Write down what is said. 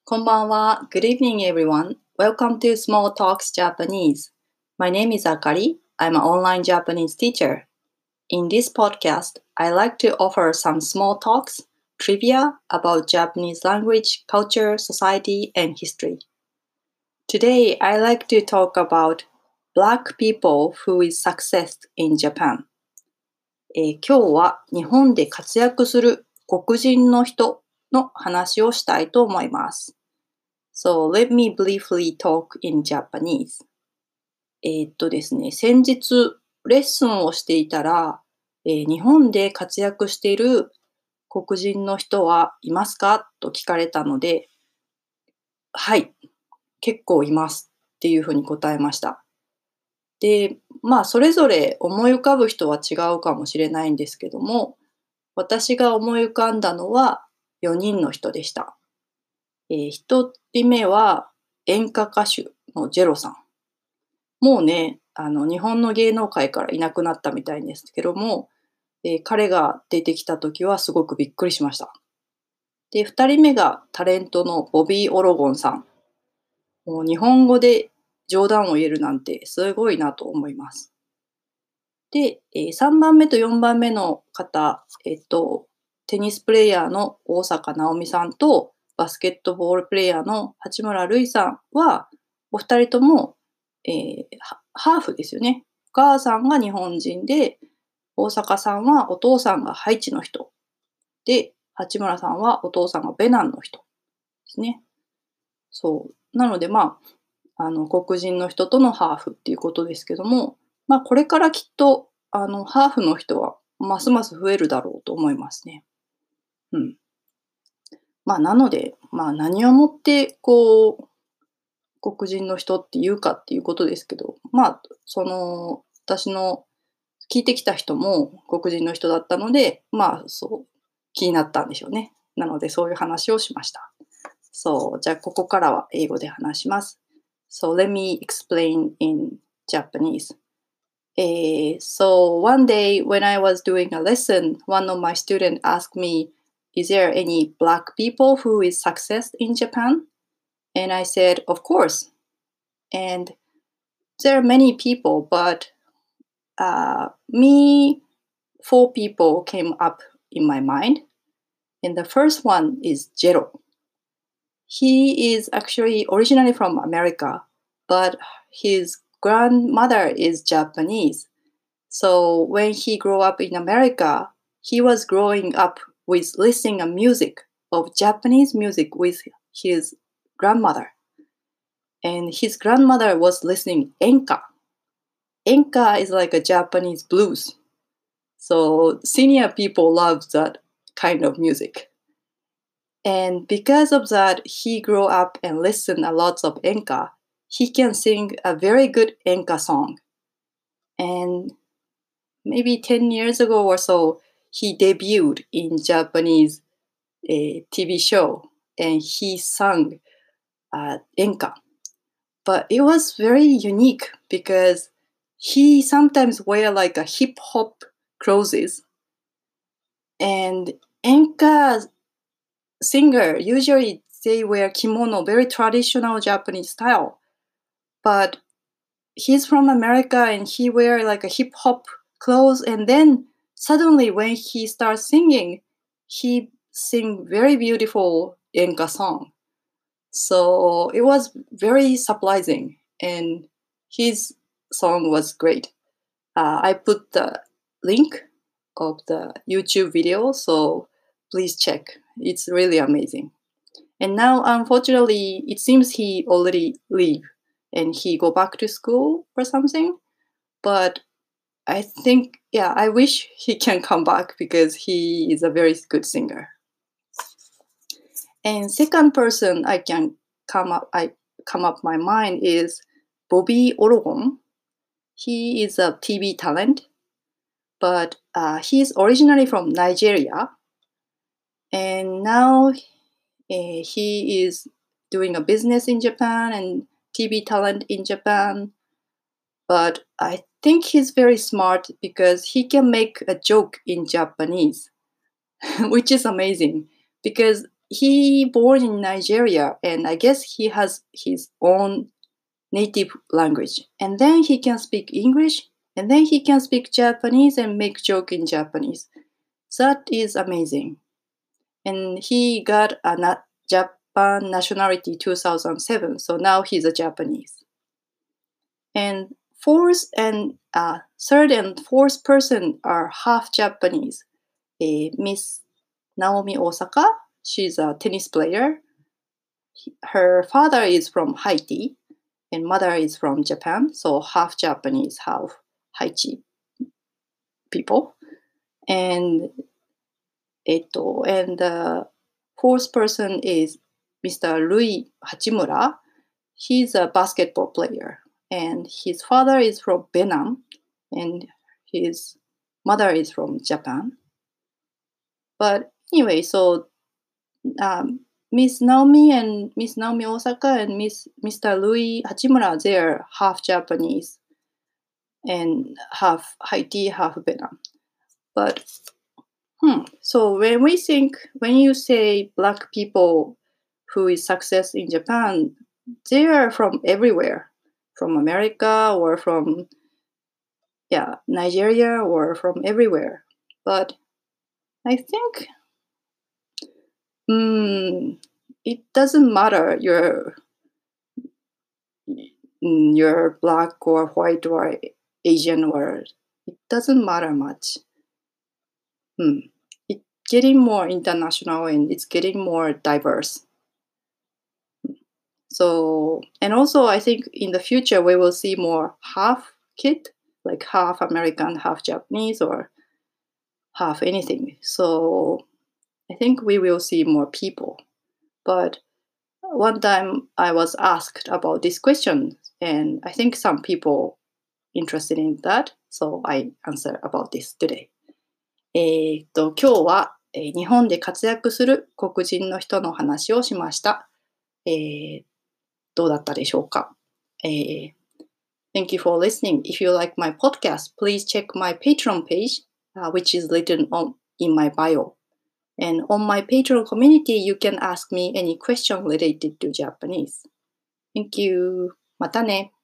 こんばんは。Good evening, everyone. Welcome to Small Talks Japanese. My name is Akari. I'm an online Japanese teacher. In this podcast, I like to offer some small talks, trivia about Japanese language, culture, society, and history. Today, I like to talk about Black people who is success in Japan. 今日は日本で活躍する黒人の人の話をしたいと思います。So let me briefly talk in Japanese. ですね、先日レッスンをしていたら、日本で活躍している黒人の人はいますかと聞かれたので、はい、結構いますっていうふうに答えました。で、それぞれ思い浮かぶ人は違うかもしれないんですけども、私が思い浮かんだのは4人の人でした。1人目は演歌歌手のジェロさん。もうね、日本の芸能界からいなくなったみたいですけども、彼が出てきた時はすごくびっくりしました。で、2人目がタレントのボビー・オロゴンさん。もう日本語で冗談を言えるなんてすごいなと思います。で、3番目と4番目の方、テニスプレイヤーの大坂なおみさんと、バスケットボールプレイヤーの八村塁さんは、お二人とも、ハーフですよね。お母さんが日本人で、大坂さんはお父さんがハイチの人。で、八村さんはお父さんがベナンの人ですね。そう。なので、黒人の人とのハーフっていうことですけども、これからきっと、ハーフの人はますます増えるだろうと思いますね。うん。なので、何をもって、黒人の人っていうかっていうことですけど、私の聞いてきた人も黒人の人だったので、気になったんでしょうね。なので、そういう話をしました。そう、じゃあ、ここからは英語で話します。So, let me explain in Japanese. So, one day when I was doing a lesson, one of my students asked me, Is there any black people who is success in Japan? And I said, Of course. And there are many people, but four people came up in my mind. And the first one is Jero. He is actually originally from America, but his grandmother is Japanese. So when he grew up in America, he was growing up with listening to music of Japanese music with his grandmother. And his grandmother was listening enka. Enka is like a Japanese blues. So senior people love that kind of music. And because of that, he grew up and listened a lot of enka. He can sing a very good enka song. And maybe 10 years ago or so, he debuted in Japanese TV show and he sang enka. But it was very unique because he sometimes wear like a hip hop clothes. And enka singer, usually they wear kimono, very traditional Japanese style. But he's from America and he wear like a hip hop clothes. And then suddenly when he starts singing, he sing very beautiful enka song. So it was very surprising and his song was great. I put the link of the YouTube video, so please check. It's really amazing. And now, unfortunately, it seems he already leave and he go back to school or something. But I think, yeah, I wish he can come back because he is a very good singer. And second person I come up my mind is Bobby Orogon. He is a TV talent, but he is originally from Nigeria, and now he is doing a business in Japan and TV talent in Japan. But I think he's very smart because he can make a joke in Japanese, which is amazing. Because he born in Nigeria, and I guess he has his own native language. And then he can speak English, and then he can speak Japanese and make joke in Japanese. That is amazing. And he got a Japan nationality 2007, so now he's a Japanese. And third and fourth person are half Japanese. Miss Naomi Osaka, she's a tennis player. Her father is from Haiti and mother is from Japan, so half Japanese, half Haiti people. And the fourth person is Mr. Rui Hachimura. He's a basketball player, and his father is from Vietnam, and his mother is from Japan. But anyway, so Miss Naomi Osaka and Mr. Rui Hachimura, they're half Japanese and half Haiti, half Vietnam. But so when you say Black people who is success in Japan, they are from everywhere, from America or from Nigeria or from everywhere. But I think it doesn't matter you're Black or white or Asian, or it doesn't matter much. It's getting more international and it's getting more diverse. So, and also I think in the future we will see more half kid, like half American, half Japanese, or half anything. So I think we will see more people. But one time I was asked about this question, and I think some people interested in that, so I answer about this today. 今日は、日本で活躍する黒人の人の話をしました。どうだったでしょうか。Thank you for listening. If you like my podcast, please check my Patreon page, which is written in my bio. And on my Patreon community, you can ask me any question related to Japanese. Thank you. またね。